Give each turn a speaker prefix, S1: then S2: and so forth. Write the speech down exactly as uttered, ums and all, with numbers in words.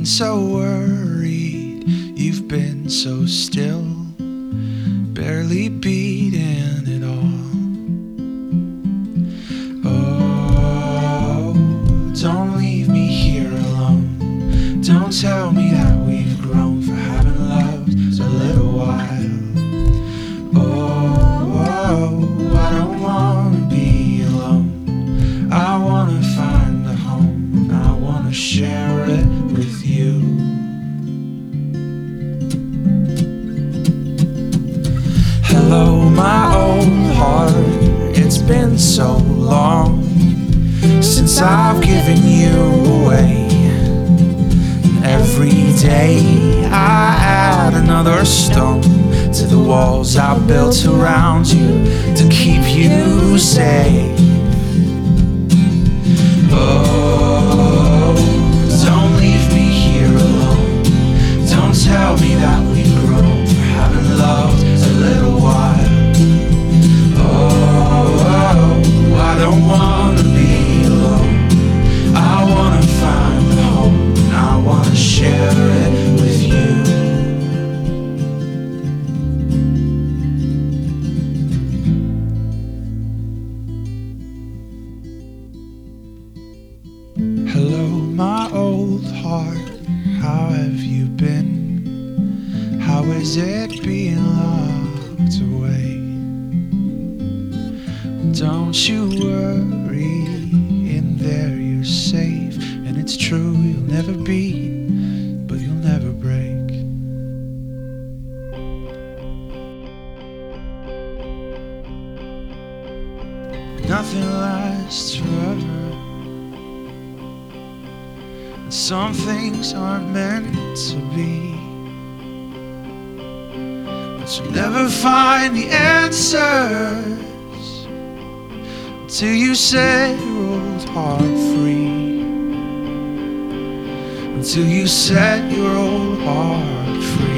S1: so worried, you've been so still, barely beating it all. Oh, don't leave me here alone. Don't tell me that we've grown for having loved a little while. Oh, oh, I don't wanna be alone. I wanna find a home. I wanna share it with you. Hello, my old heart. It's been so long since I've given you away. And every day I add another stone to the walls I built around you to keep you safe. Oh, don't leave me here alone. Don't tell me that we've grown for having loved a little while. Oh, oh, I don't wanna be alone. I wanna find a home, and I wanna share it with you. Hello, my old heart, how have you been? How is it being locked away? Don't you worry, in there you're safe. And it's true, you'll never beat, but you'll never break. Nothing lasts forever. Some things aren't meant to be, but you'll never find the answers till you set your old heart free. Until you set your old heart free.